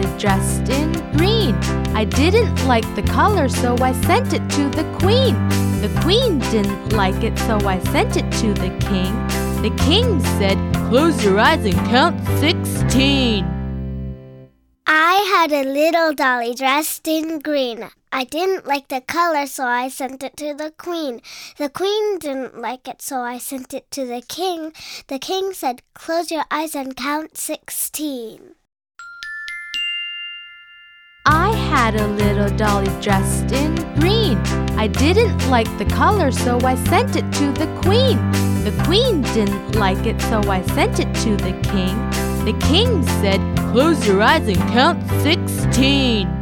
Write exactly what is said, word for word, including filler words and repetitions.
dolly dressed in green. I didn't like the color, so I sent it to the queen. The queen didn't like it, so I sent it to the king. The king said, "Close your eyes and count sixteen." I had a little dolly dressed in green. I didn't like the color, so I sent it to the queen. The queen didn't like it, so I sent it to the king. The king said, "Close your eyes and count sixteen." I had a little dolly dressed in green. I didn't like the color, so I sent it to the queen. The queen didn't like it, so I sent it to the king. The king said, "Close your eyes and count sixteen."